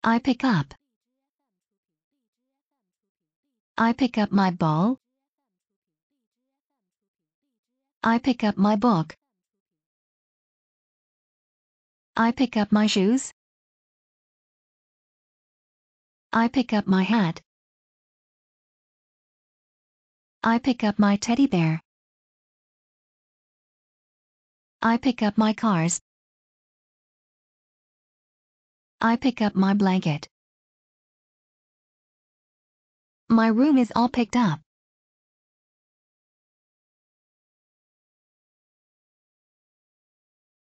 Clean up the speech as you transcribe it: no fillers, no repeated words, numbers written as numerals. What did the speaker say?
I pick up. I pick up my ball. I pick up my book. I pick up my shoes. I pick up my hat. I pick up my teddy bear. I pick up my cars. I pick up my blanket. My room is all picked up.